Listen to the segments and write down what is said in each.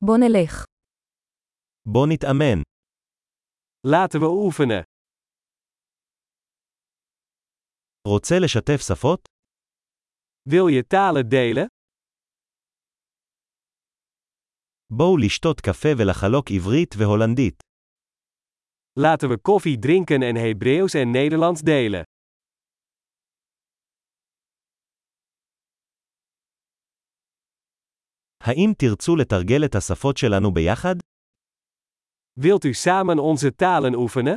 בוא נלך. בוא נתאמן. Laten we oefenen. רוצה לשתף שפות? Wil je talen delen? בואו לשתות קפה ולחלוק עברית והולנדית. Laten we koffie drinken en Hebreeuws en Nederlands delen. האם תרצו לתרגל את השפות שלנו ביחד? Wilt u samen onze talen oefenen?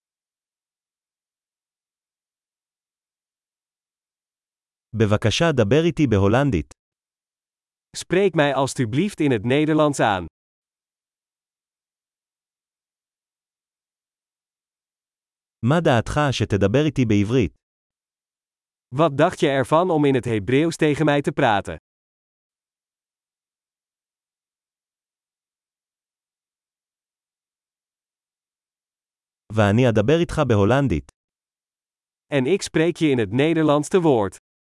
בבקשה דבר איתי בהולנדית. Spreek mij alstublieft in het Nederlands aan. מה דעתך שתדבר איתי בעברית? Wat dacht je ervan om in het Hebreeuws tegen mij te praten? ואני אדבר איתך בהולנדית. En ik spreek je in het Nederlands te woord.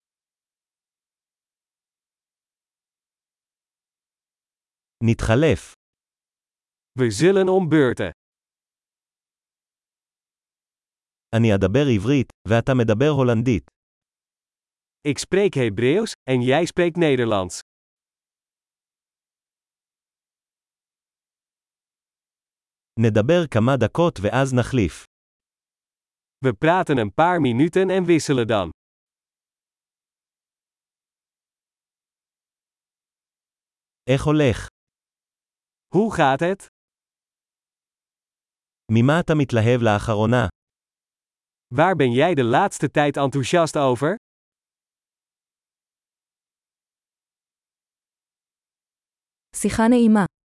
נתחלף. We zullen om beurten. אני אדבר עברית, ואתה מדבר הולנדית. Ik spreek Hebreeuws, en jij spreekt Nederlands. נדבר כמה דקות ואז נחליף. We praten een paar minuten en wisselen dan. איך הולך? Hoe gaat het? ממה אתה מתלהב לאחרונה? Waar ben jij de laatste tijd enthousiast over? שיחה נעימה.